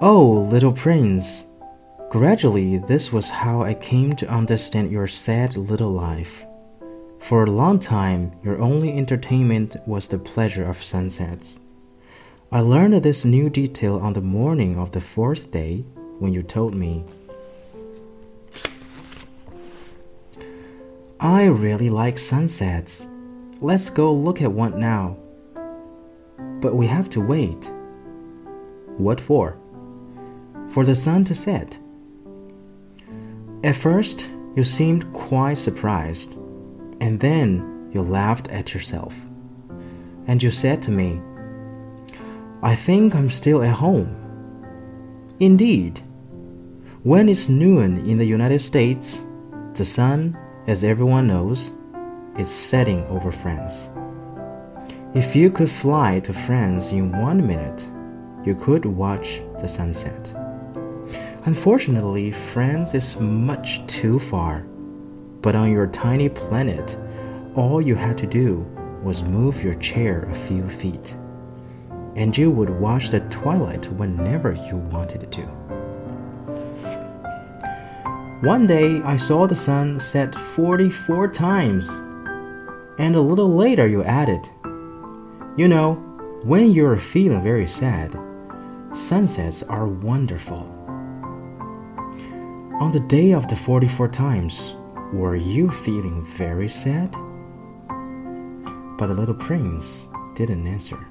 Oh, little prince, gradually this was how I came to understand your sad little life. For a long time, your only entertainment was the pleasure of sunsets. I learned this new detail on the morning of the fourth day when you told me, I really like sunsets. Let's go look at one now. But we have to wait. What for? For the sun to set. At first, you seemed quite surprised, and then you laughed at yourself. And you said to me, I think I'm still at home. Indeed, when it's noon in the United States, the sun, as everyone knows, is setting over France. If you could fly to France in 1 minute, you could watch the sunset. Unfortunately, France is much too far, but on your tiny planet, all you had to do was move your chair a few feet, and you would watch the twilight whenever you wanted to. One day, I saw the sun set 44 times, and a little later you added, You know, when you're feeling very sad, sunsets are wonderful. On the day of the 44 times, were you feeling very sad? But the little prince didn't answer.